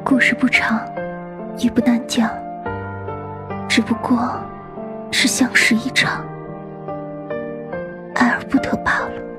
故事不长，也不难讲，只不过是相识一场，爱而不得罢了。